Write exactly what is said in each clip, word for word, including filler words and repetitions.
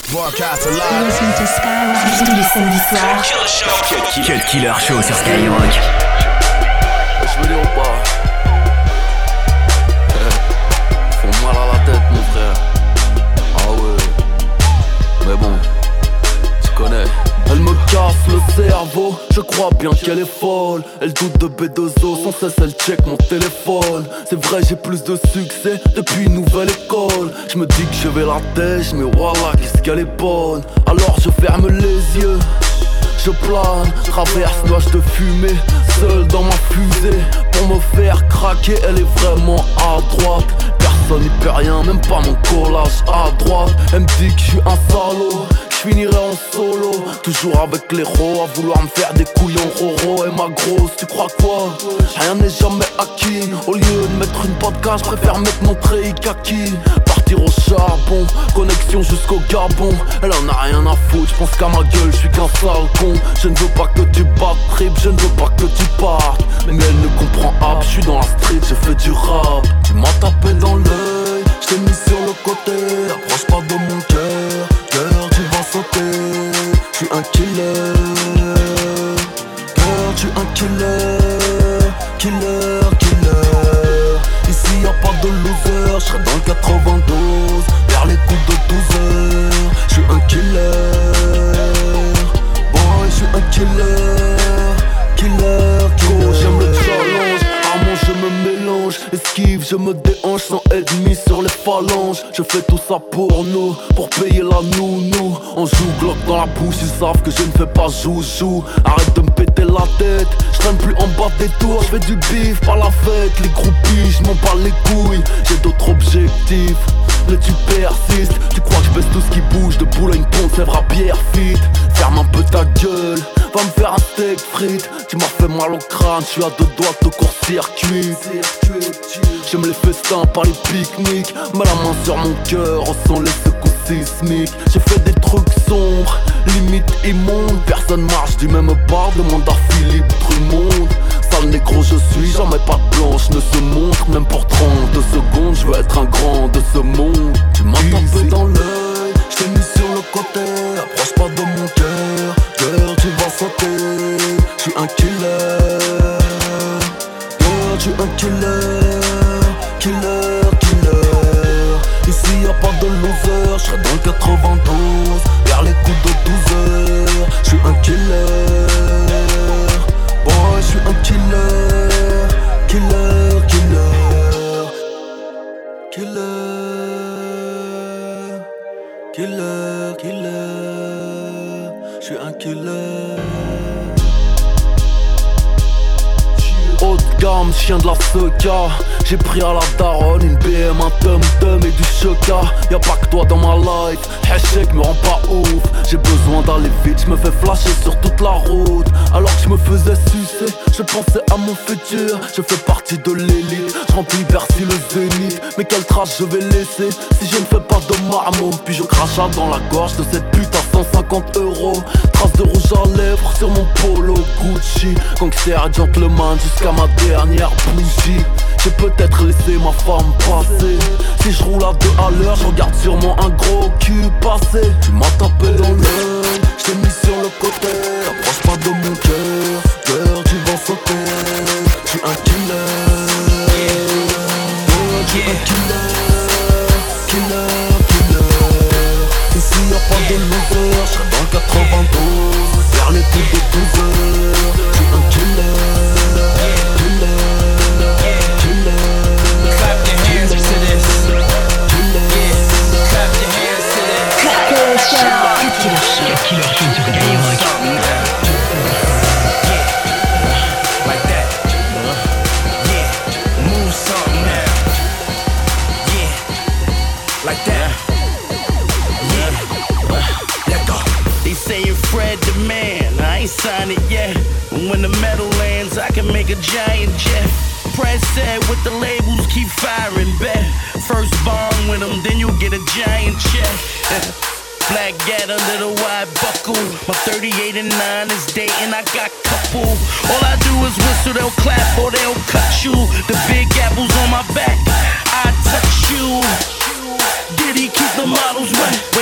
Broadcast live. Listen to Skyrock tous les samedis soirs. Cut Killer Show sur Skyrock. Je veux dire ou pas? Font mal à la tête mon frère. Ah ouais. Mais bon, tu connais. Elle me casse le cerveau, je crois bien qu'elle est folle. Elle doute de B deux O, sans cesse elle check mon téléphone. C'est vrai j'ai plus de succès depuis une nouvelle école. Je me dis que je vais la têche, mais voilà qu'est-ce qu'elle est bonne. Alors je ferme les yeux, je plane, traverse nuage de fumée, seul dans ma fusée. Pour me faire craquer, elle est vraiment à droite. Personne n'y peut rien, même pas mon collage à droite. Elle me dit que je suis un salaud, je finirai en solo, toujours avec l'héros, à vouloir me faire des couillons roro. Et ma grosse, tu crois quoi? Rien n'est jamais acquis. Au lieu de mettre une podcast, je préfère mettre mon treillis kaki. Partir au charbon, connexion jusqu'au Gabon. Elle en a rien à foutre, je pense qu'à ma gueule, je suis qu'un sale con. Je ne veux pas que tu battes trip, je ne veux pas que tu partes. Mais elle ne comprend pas, je suis dans la street, je fais du rap. Tu m'as tapé dans l'œil, je t'ai mis sur le côté. Approche pas de mon cœur, cœur tu vas sauter. Je suis un killer, cœur tu un killer, killer, killer. Ici y'a pas de loser, je serai dans le quatre-vingt-douze, vers les coups de douze heures. Je suis un killer, boy je suis un killer, killer, killer. J'aime le challenge, armand je me mélange. Esquive, je me déhanche sans ennemi sur les phalanges. Je fais tout ça pour nous, pour payer la nounou. On joue Glock dans la bouche, ils savent que je ne fais pas joujou. Arrête de me péter la tête, je traîne plus en bas des tours. Je fais du bif, pas la fête, les groupies, je m'en bats les couilles. J'ai d'autres objectifs, mais tu persistes. Tu crois que je baisse tout ce qui bouge, de Boulogne-Pont, Sèvres à Pierrefitte. Ferme un peu ta gueule, va me faire un steak frites. Tu m'as fait mal au crâne, je suis à deux doigts de court-circuit. J'aime les festins, pas les pique-niques. Mets la main sur mon cœur, ressens les secousses sismiques. J'ai fait des trucs sombres, limite immondes. Personne marche du même pas, demande à Philippe Drummond. Sale négro je suis, jamais pas de blanche ne se montre. Même pour trente secondes, je veux être un grand de ce monde. Tu m'as tapé dans l'œil, je t'ai mis sur le côté. Approche pas de mon cœur, cœur tu vas sauter. Je suis un killer, cœur tu un killer, killer, killer. Ici y'a pas de loser, je serai dans le quatre-vingt-douze, vers les coups de douze heures. Je suis un killer, boy je suis un killer, killer, killer, killer, killer, killer. Je suis un killer. Haut de gamme, chien de la Seca. J'ai pris à la daronne une B M, un tum-tum et du choca. Y'a pas que toi dans ma life, hashtag me rend pas ouf. J'ai besoin d'aller vite, je me fais flasher sur toute la route. Alors que je me faisais sucer, je pensais à mon futur. Je fais partie de l'élite, je remplis Bercy le zénith. Mais quelle trace je vais laisser si je ne fais pas de marmot. Puis je crache dans la gorge de cette pute à cent cinquante euros. Trace de rouge à lèvres sur mon polo Gucci. Gangster et gentleman jusqu'à ma dernière bougie. J'ai peut-être laissé ma femme passer. Si je roule à deux à l'heure, je regarde sûrement un gros cul passer. Tu m'as tapé dans l'œil, je t'ai mis sur le côté. Approche pas de mon cœur, cœur tu vas sauter. Je suis un killer, je suis un killer, killer, killer. Ici y'a pas de loser, je serai dans le quatre-vingt-douze, vers les coups de douze heures. Je suis un killer, killer. Clap your hands to this. Yeah. Clap your hands to this. Cut Killer Show. Cut Killer Show. Cut Killer Show sur Skyrock. Yeah. Like that. Yeah. Move something now. Yeah. Like that. Yeah. Let go. They saying Fred the man. I ain't signed it yet. But when the metal lands, I can make a giant jet. Press said with the labels, keep firing bet. First bomb with them, then you'll get a giant check. Black gat under the wide buckle. My thirty-eight and nine is dating, I got couple. All I do is whistle, they'll clap or they'll cut you. The big apples on my back, I touch you. Did he keep the models wet? Way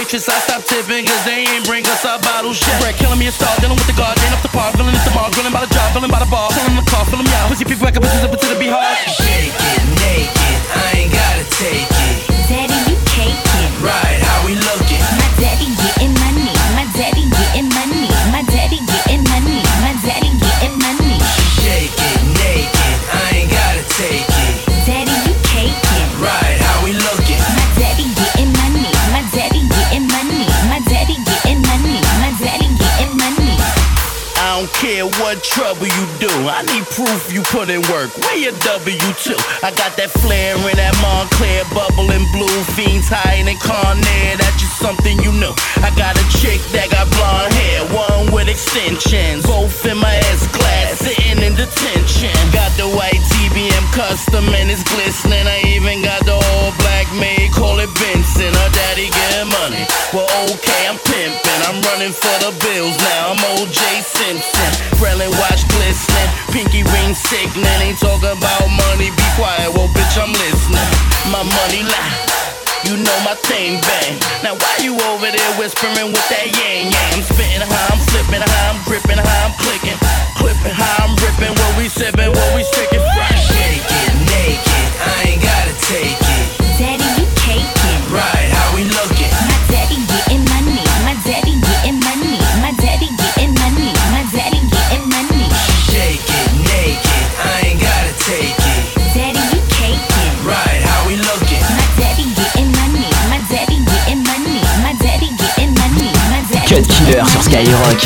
waitress, I stopped tipping, cause they ain't bring us our bottles yet. Bread killing me a star, dealing with the guard, ain't up the par, feeling at the bar, grilling by the job, feeling by the bar, filling the car, filling me out. Pussy people wake up, pussy up into the beehard. Shake it naked, I ain't gotta take it. Daddy, you caking. Right, how we looking? My daddy getting money. My daddy getting money. My daddy getting money. My daddy getting money. Shake it naked, I ain't gotta take it. Daddy, you caking. Right, how we looking? My daddy getting money. My daddy getting money. My daddy getting money. My daddy getting money. I don't care what trouble you do, I need proof you put in work. Where your W two? I got that flare in that Montclair, bubbling blue, fiends hiding in Carnair. That's just something you know. I got a chick that got blonde hair, one with extensions, both in my S-class, sitting in detention. Got the white T B M custom and it's glistening. I even got the all black maid, call it Benson. Her daddy getting money. Well, okay, I'm pimping. I'm running for the bills now. I'm O J Simpson. Krellin watch glistening, pinky ring sickening. Ain't talking about money, be quiet. Well, bitch, I'm listening. My money lie. You know my thing bang. Now why you over there whispering with that yang yang? I'm spitting how I'm flipping, how I'm gripping, how I'm clicking, clipping, how I'm ripping. What we sipping, what we sticking. Shake it naked, I ain't gotta take it. Daddy, you caking. Right, how we looking? My daddy getting money. My daddy getting money. My daddy getting money. My daddy getting money. Shake it naked, I ain't gotta take it. Daddy, you caking. Right, how we looking? My daddy getting money. My daddy getting money. My daddy getting money. My daddy. Cut Killer sur Skyrock.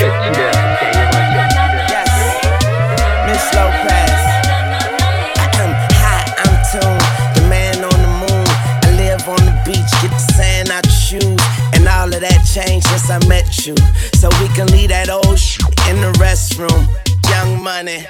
Yes, Miss Lopez. I'm high, I'm tuned. The man on the moon. I live on the beach, get the sand out your shoes. And all of that changed since I met you. So we can leave that old shit in the restroom. Young Money.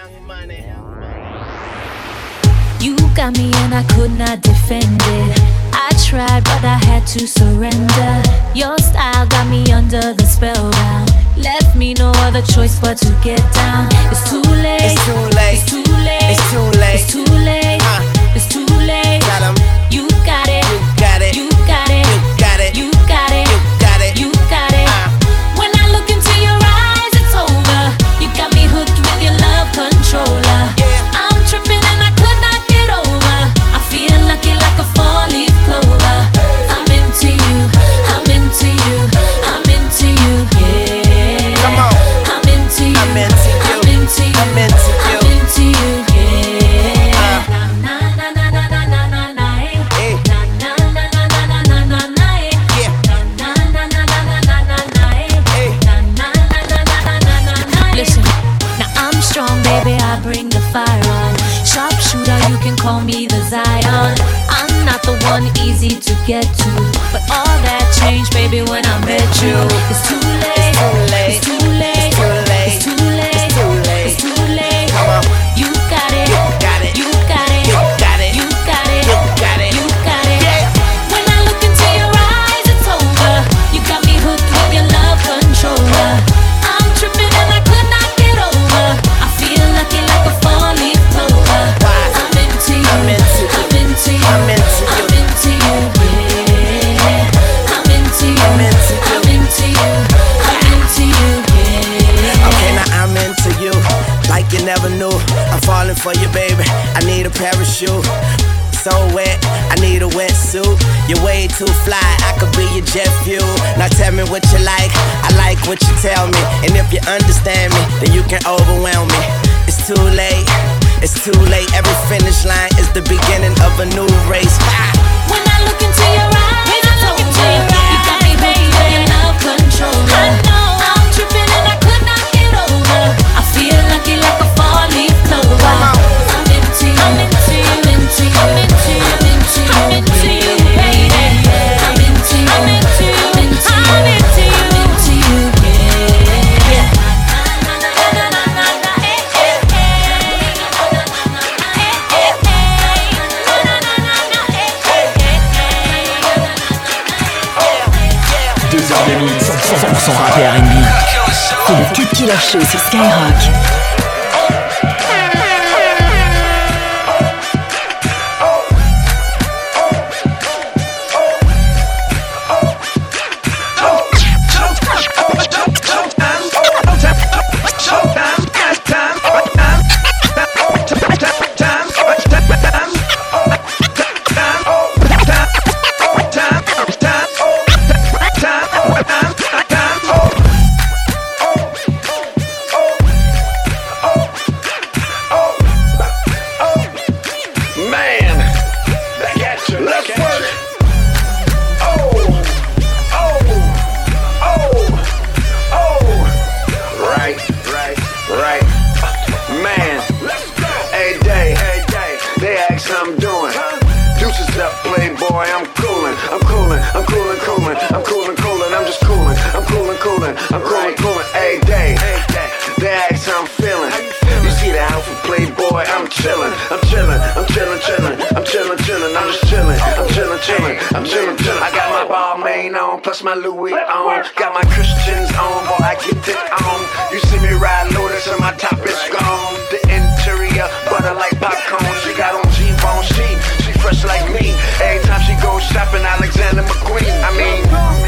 You got me and I could not defend it. I tried but I had to surrender. Your style got me under the spellbound. Left me no other choice but to get down. It's too late. It's too late. It's too late. It's too late. It's too late. Uh, It's too late. Got 'em. You got it. You got it. You got it. You got it. You got it. You got it. You got it. Uh. When I look into your eyes, it's over. You got me hooked with your love controller. Yeah. I'm tripping and I could not get over. I feel lucky like a four-leaf clover. I'm into you. I'm into you. I'm into you. Yeah. Come on. I'm into you. I'm into you. I'm into you. I'm into you. I'm into you. Yeah. Uh. Na na na na na na na na. Hey. Na na na na na na na na na. Yeah. Na na na na na na na na. Hey. Na na na na na na na na. Listen, now I'm strong, baby. I bring the fire on. Sharpshooter, you can call me the Zion. I'm not the one easy to get to, but all that changed, baby, when I met you. It's too late. It's too late. It's too late. It's too late. It's too late. It's too late. It's too late. Come on. You got it. You got it. You got it. You got it. You got it. You got it. You got it. Yeah. When I look into your eyes, it's over. You got me hooked with your love controller. I'm tripping and I could not get over. I feel lucky like a four-leaf clover. Why? I'm into you. I'm into you. I'm into you. I'm into you. I'm into you. Yeah. I'm into you. I'm into you. I'm into you. I'm into you. Yeah. Okay, now I'm into you, like you never knew. I'm falling for you, baby. I need a parachute. So wet, I need a wetsuit. You're way too fly, I could be your jet fuel. Now tell me what you like, I like what you tell me. And if you understand me, then you can overwhelm me. It's too late, it's too late. Every finish line is the beginning of a new race. When I look into your eyes, it's over. You got me hooked with your love controller. I know I'm tripping and I could not get over. I feel lucky like a four-leaf clover. I'm into you. I'm into you. I'm into you. I'm into you. I'm into you, baby. I'm into you. I'm into you. I'm into you. I'm into you. I'm into you. Yeah. Na na na na na na. Eh eh eh. Na na na na. Eh eh eh. Na na na na. Eh eh eh. deux heures de mix, cent pour cent rap et R and B. C'est le Cut Killer Show sur Skyrock. I'm coolin', I'm coolin', coolin', I'm coolin', coolin', I'm just coolin', I'm coolin', coolin', I'm coolin', coolin', every day. They ask how I'm feelin'. You see the outfit, Playboy, I'm chillin', I'm chillin', I'm chillin', chillin', I'm chillin', chillin', I'm just chillin', I'm chillin', chillin', I'm chillin', chillin'. I got my Balmain on, plus my Louis on, got my Christians on, boy, I get it on. You see me ride Lotus and my top is gone. The interior, butter like popcorn. She got on G-bone, she, she fresh like me. Every time she goes shopping, Alexander McQueen. I mean,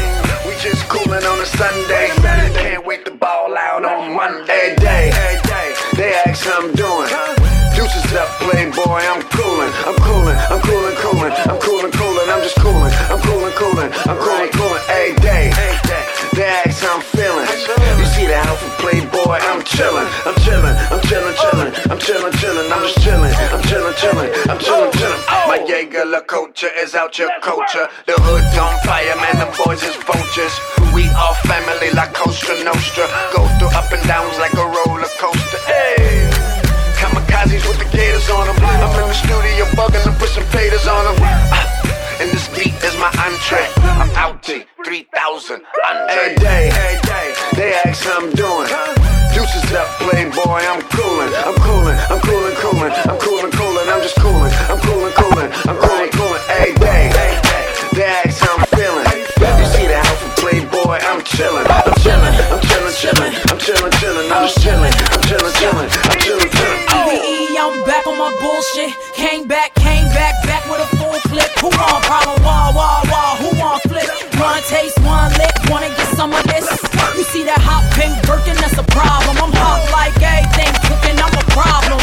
we just coolin' on a Sunday. Can't wait to ball out on Monday. Day, they ask how I'm doing. Deuces up, Playboy, I'm coolin', I'm coolin', I'm coolin', coolin', I'm coolin', coolin', I'm just coolin', I'm coolin', coolin', I'm coolin', coolin', every day. They ask how I'm feelin'. You see the outfit, Playboy, I'm chillin', I'm chillin', I'm chillin', chillin', I'm chillin', chillin', I'm just chillin', I'm chillin', chillin', I'm chillin', chillin'. My Jaeger La culture is out your culture. The hood's on fire, man, them boys is vultures. We all family like Costa Nostra. Go through up and downs like a roller coaster. Hey, kamikazes with the gators on them. I'm in the studio bugging to put some taters on them. Uh, and this beat is my entree. I'm out to three thousand every day. They ask how I'm doing. Deuces up, Playboy, I'm coolin', I'm coolin', I'm coolin', coolin', I'm coolin', coolin', I'm just coolin', I'm coolin', coolin', I'm coolin', coolin', every day. They ask how I'm feelin'. You see the outfit, Playboy, I'm chillin', I'm chillin', I'm chillin', chillin', I'm chillin', chillin', I'm just chillin', I'm chillin', chillin', I'm chillin', chillin'. E V E, I'm back on my bullshit. Came back, came back, back with a full clip. Who want problem? Wah, wah, wah. Who want flip? One taste, one lick. Wanna get some of this? You see that hot pink Birkin? That's a problem. I'm hot like everything cooking. I'm a problem.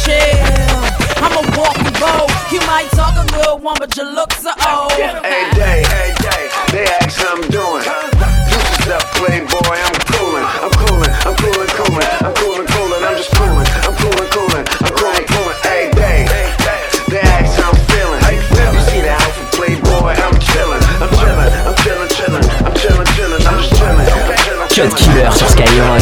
Chill. I'm a walking bow. You might talk a good one, but your looks are old. Every day, every day, they ask how I'm doing. Deuces up, Playboy, I'm coolin', I'm coolin', I'm coolin', coolin', I'm coolin', coolin', I'm just coolin', I'm coolin', coolin', I'm coolin', coolin', every day. They ask how I'm feelin'. You see the outfit, Playboy, I'm chillin', I'm chillin', I'm chillin', chillin', I'm chillin', chillin', I'm just chillin', I'm chillin'. Cut Killer sur Skyrock.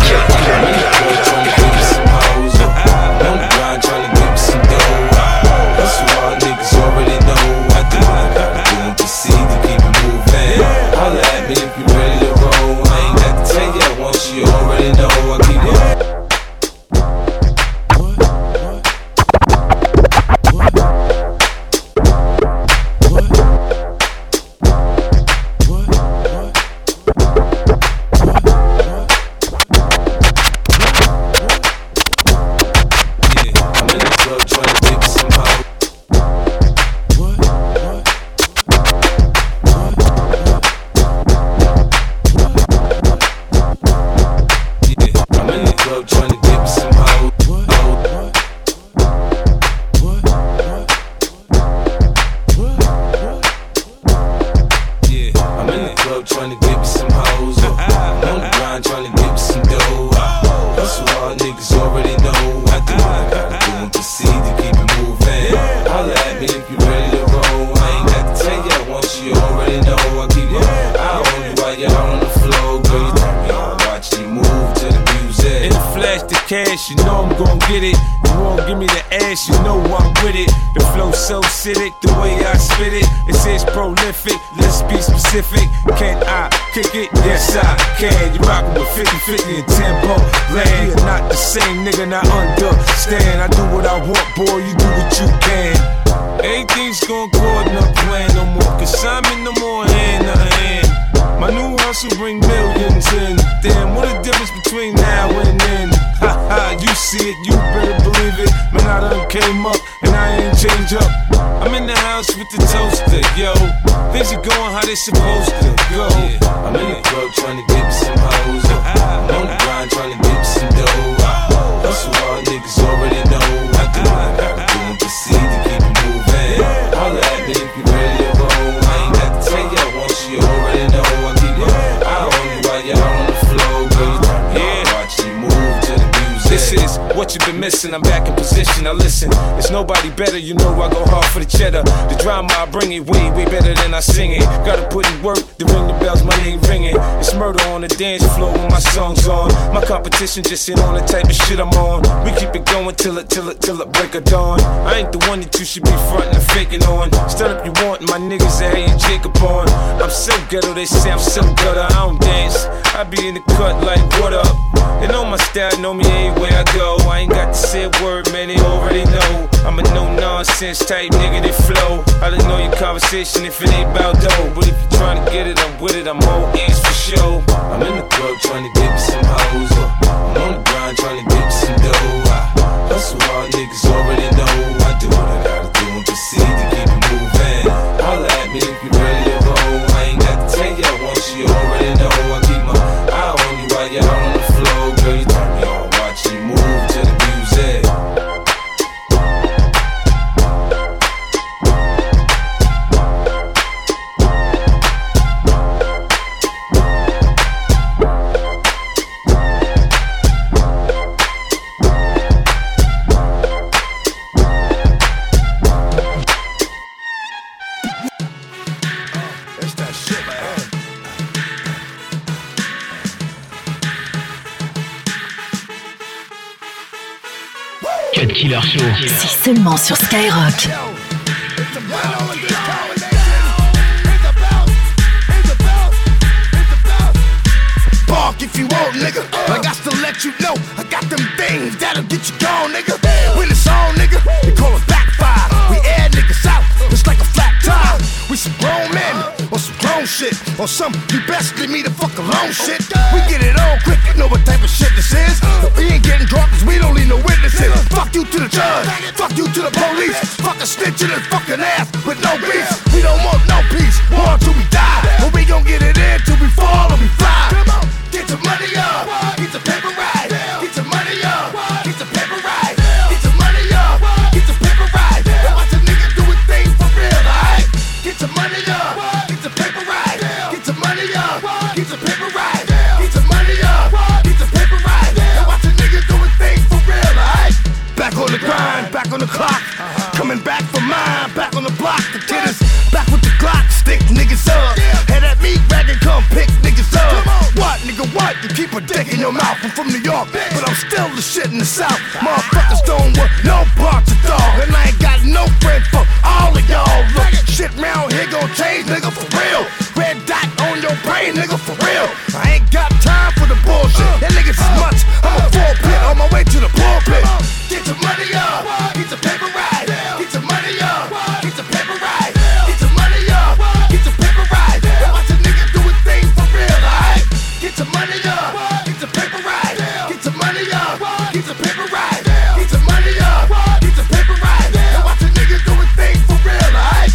Cash, you know I'm gon' get it. You won't give me the ass, you know I'm with it. The flow so acidic, the way I spit it. It says prolific, let's be specific. Can I kick it? Yes I can. You rockin' with fifty fifty and tempo land. You're not the same nigga, not understand. I do what I want, boy, you do what you can. Everything's gon' go in the plan no more. Cause I'm in no more hand to hand. My new hustle bring millions in. Damn, what a difference between now and then. Ha ha, you see it, you better believe it. Man, I done came up and I ain't change up. I'm in the house with the toaster, yo. Things are going how they supposed to go. I'm in the club trying to get me some hoes. I'm on the grind trying to get me some dough. Hustle hard, niggas already know. I do what I gotta do and proceed to keep it moving. Holla at me if you ready to roll. I ain't got to tell you once you already know. I keep it, I own you while you're on the floor, girl. Yeah, watch you move to the music. This is what what you've been missing. I'm back in position, now listen. There's nobody better, you know I go hard for the cheddar. The drama I bring it way, way better than I sing it. Gotta put in work to ring the bells, my name ringing. It's murder on the dance floor when my song's on. My competition just ain't on the type of shit I'm on. We keep it going till it, till it, till it break of dawn. I ain't the one that you should be frontin' and faking on. Start up you want, my niggas that hate Jacob on. I'm so ghetto, they say I'm so gutter. I don't dance, I be in the cut like what up. They know my style, know me everywhere I go. I ain't got to say a word, man, they already know. I'm a no-nonsense type nigga that flow. I don't know your conversation if it ain't about dough. But if you're trying to get it, I'm with it, I'm all ears for sure. I'm in the club trying to get me some hoes. I'm on the grind trying to get me some dough. I hustle hard, niggas already know. I do what I gotta do and proceed to keep it moving. Holla at me if you ready to roll. I ain't got to tell you once you already know. I keep my eye on you while you're out on the floor. Girl, you turn me on, watch you move to the music. Cut Killer Show. C'est seulement sur Skyrock. Bark if you want, nigga. I got to let you know I got them things that'll get you gone, nigga. When it's on, nigga, we call it backfire. We air niggas out, it's like a flat tire. We some grown men on some grown shit, or some you best leave me the fuck alone shit. We get it on quick, you know what type of shit this is. But we ain't getting drunk cause we don't need no witnesses. Fuck you to the judge, fuck you to the police. Fuck a snitch in his fucking ass with no beef. We don't want no peace, war until we die. But we gon' get it in till we fall or we fly. Come on, get your money up, get your paper right. Get your money up, get your paper right. Get your money up, get your paper right. And watch a nigga do his thing for real, alright? Get your money up, get your paper right. Get your money up, get your paper right. Get your money up, get your paper right. And watch a nigga do his thing for real, alright? Back on the grind, back on the clock. Coming back for mine, back on the block. The killers, back with the Glock, stick niggas up. Head at me, rag and come pick niggas up. What, nigga, what? You keep a dick in your mouth. I'm from New York, but I'm still the shit in the South. Motherfuckers don't want no parts of dog. And I ain't got no friend for all of y'all. Look, shit round here gon' change, nigga, for real. Red dot on your brain, nigga, for real. I ain't got time for the bullshit. That niggas is much. I'm a full pit on my way to the pulpit. Get your money up, get your paper right. Get your money up, get your paper right. Get your money up, get your paper right. And watch a nigga do his thing for real, alright? Get your money up, get your paper right. Get your money up, get your paper right. Get your money up, get your paper right. And watch a nigga do his thing for real, alright?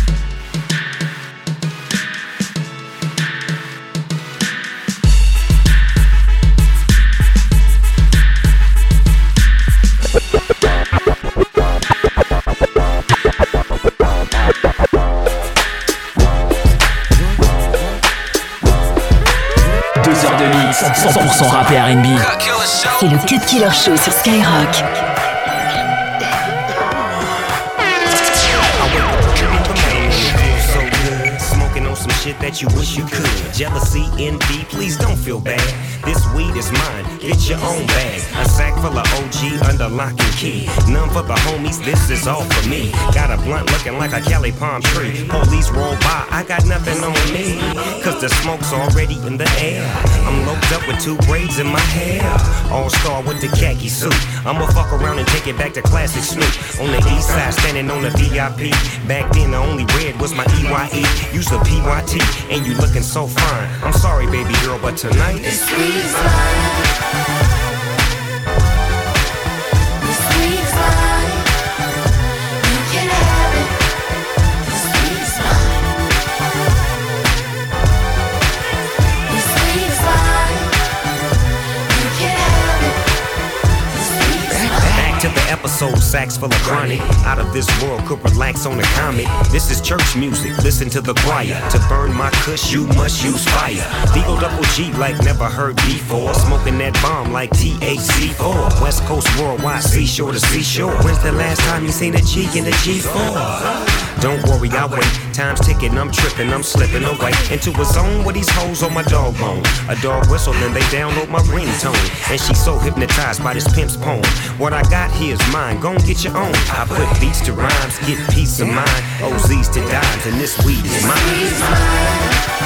Deux heures de mix, cent pour cent rap et R and B. C'est le Cut Killer Show sur Skyrock. Some shit that you wish you could. Jealousy, envy, please don't feel bad. This weed is mine, get your own bag. A sack full of O G under lock and key. None for the homies, this is all for me. Got a blunt looking like a Cali palm tree. Police roll by, I got nothing on me. Cause the smoke's already in the air. I'm loped up with two braids in my hair. All star with the khaki suit. I'ma fuck around and take it back to classic Snoop. On the east side, standing on the V I P. Back then the only red was my E Y E. Use the P Y T, and you looking so fine. I'm sorry, baby girl, but tonight it's sweet as mine. The sweet as mine. You can have it. The sweet as mine. The sweet as mine. You can have it. The sweet as mine. Back to the episode. soul sax full of chronic. Out of this world, could relax on a comet. This is church music, listen to the choir. To burn my kush, you must use fire. Deagle double G like never heard before. Smoking that bomb like T H C four. West Coast worldwide, seashore to seashore. When's the last time you seen a G in a G four? Don't worry, I'll wait. Time's ticking, I'm tripping, I'm slipping away into a zone where these hoes on my dog bone. A dog whistle, then they download my ringtone. And she's so hypnotized by this pimp's poem. What I got here is mine, gon' get your own. I put beats to rhymes, get peace of mind. O Z's to dimes, and this weed is mine.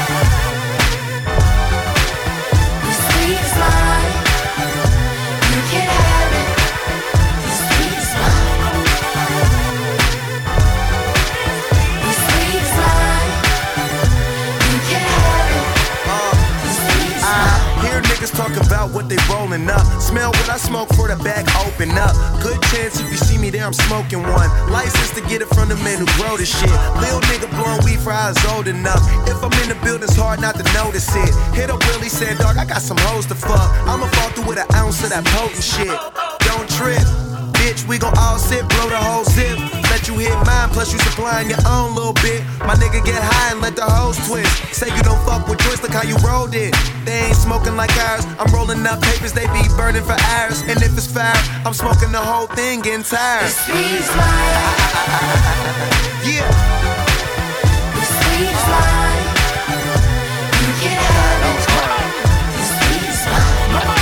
Talk about what they rolling up. Smell what I smoke for the bag open up. Good chance if you see me there, I'm smoking one. License to get it from the men who grow this shit. Lil nigga blowing weed for I was old enough. If I'm in the building, it's hard not to notice it. Hit up Willie, said, dog, I got some hoes to fuck. I'ma fall through with an ounce of that potent shit. Don't trip. Bitch, we gon' all sit, blow the whole zip. Let you hit mine, plus you supplying your own little bit. My nigga get high and let the hoes twist. Say you don't fuck with joints, look how you rolled it. They ain't smoking like ours. I'm rolling up papers, they be burning for hours. And if it's fire, I'm smoking the whole thing, getting tired. This weed's mine. Yeah. This weed's mine. You can have it. This weed's mine.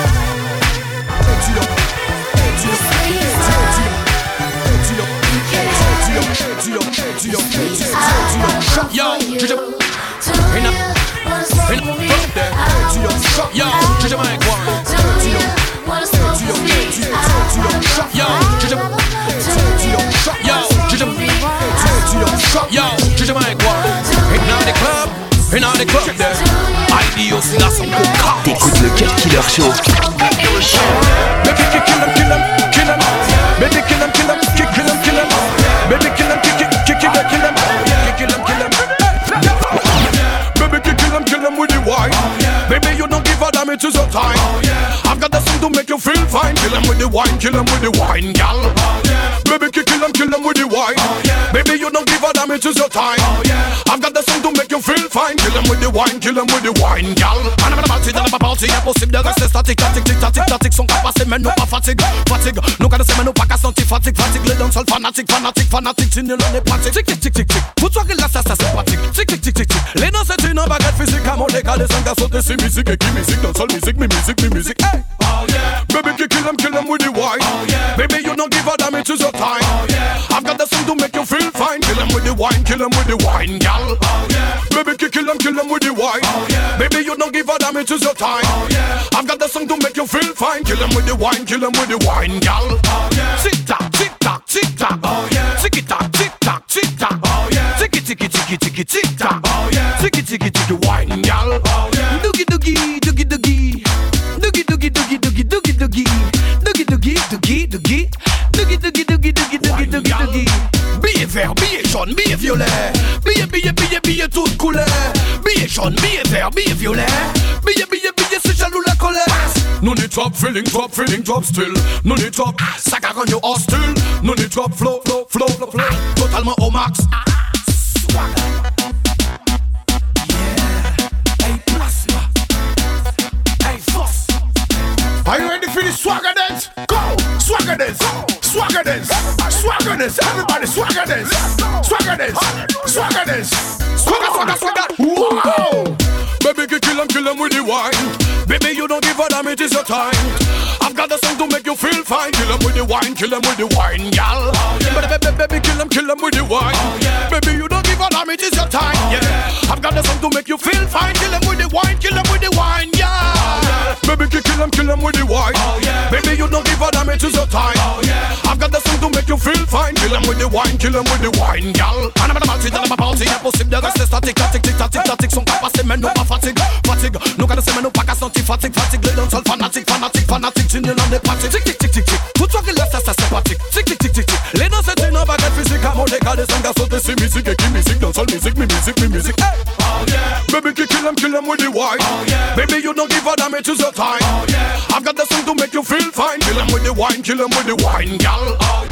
Yo, just a in a in a yo, just a mic one. Yo, just a yo, just a yo, just a mic one. In the club, in the club there. Ideos là sont coca. T'écoutes le Cut Killer Show. Baby kill him, kill him, kill him. Baby kill him, kill him, kill him, kill him. Baby kill him, kill him, kill him, kill him. Kill him, kill him. Baby kill him, kill him with the wine. Baby you don't give a damn, it is your time. I've got the song to make you feel fine. Kill him with the wine, kill him with the wine, gal. Baby kill him, kill him with the wine. Baby you don't give a damn, it is your time. I've got the song to make you feel fine. Kill him with the wine, kill him with the wine, gal. On a party dans la party, impossible de rester statique, statique, tic tac, tic tac, tic. Sont capaces mais non pas fatigue, fatigue. Nous connaissons mais nous pas qu'à sentir fatigue, fatigue. Les danseurs fanatiques, fanatiques, fanatiques. Si nous l'on est pratique, tic tic tic tic tic. Pour toi que là ça ça c'est pratique, tic tic tic tic tic. Les danseurs c'est une baguette physique, à mon décalé sans gars sauter c'est musique et qui musique dans seule musique, mi musique, mi musique. Hey, oh yeah. Baby kill him, kill him with the wine. Oh yeah. Baby you don't give a damn, it is your time. Oh yeah. I've got the song to make you feel fine. Kill him with the wine, kill him with the wine, gal. Oh yeah. Baby kill him, kill him with the wine. Oh yeah. Baby you don't give a damn, it is your time. Oh yeah. I've got the song to make you feel fine. Kill him with the wine, kill him with the wine, gal. Oh yeah. Tick tock, tick tock, tick tock. Oh yeah. Ticky tock, tick tock, tick tock. Oh yeah. Ticky ticky ticky ticky tick tock. Oh yeah. Ticky ticky ticky wine, gal. Oh yeah. Doogie doogie, doogie doogie. Doogie doogie doogie doogie doogie doogie. Doogie doogie doogie doogie. Doogie doogie doogie doogie doogie doogie doogie. Billet vert, billet jaune, billet violet. Billet, billet, billet, billet toutes couleurs. Billet jaune, billet vert, billet violet. Billet, billet, billet, c'est jaloux la colère. No need top feeling, top feeling, top still. No need top, ça gagne au hostile. No need top flow, flow, flow, flow, flow. Totalement au max. Swag. Are you ready for the swagger dance? Go! Swagger dance! Swagger dance! Swagger dance! Everybody swagger dance! Swagger dance! Swagger dance! Swagger, swagger, swagger! Wow! Baby, kill him, kill him with the wine. Baby, you don't give a damn, it is your time. I've got the song to make you feel fine. Kill him with the wine, kill him with the wine, gal. Oh, yeah. Baby, baby, baby, kill him, kill him with the wine. Oh, yeah. Baby, you don't give a damn, it is your time. Yeah. I've got the song to make you feel fine. Kill him with the wine, kill him with the wine, yeah. Oh, yeah. Baby, kill him, kill him with the wine. Oh, yeah. Baby, you don't give a damn, it is your time. Oh, yeah. I've got the song to make you feel fine. Kill him with the wine, kill him with the wine, gal. On a party dans la party, impossible de rester statique, statique, tic tac, tic tac, tic. Sont capaces mais non pas fatigue, fatigue. Nous connaissons mais non pas qu'à sentir fatigue, fatigue. Les danseurs fanatiques, fanatiques, fanatiques. Si nous l'on est pratique, tic tic tic tic tic. Pour toi que là ça ça c'est pratique, tic tic tic tic tic. Les danseurs c'est une baguette physique, à mon décalé sans gars sauter c'est musique et qui musique dans seule musique, mi musique, mi musique. Hey, oh yeah. Baby kill him, kill him with the wine. Oh yeah. Baby you don't give a damn, it is your time. Oh yeah. I've got the song to make you you feel fine. Kill 'em with the wine, kill 'em with the wine, gal. Oh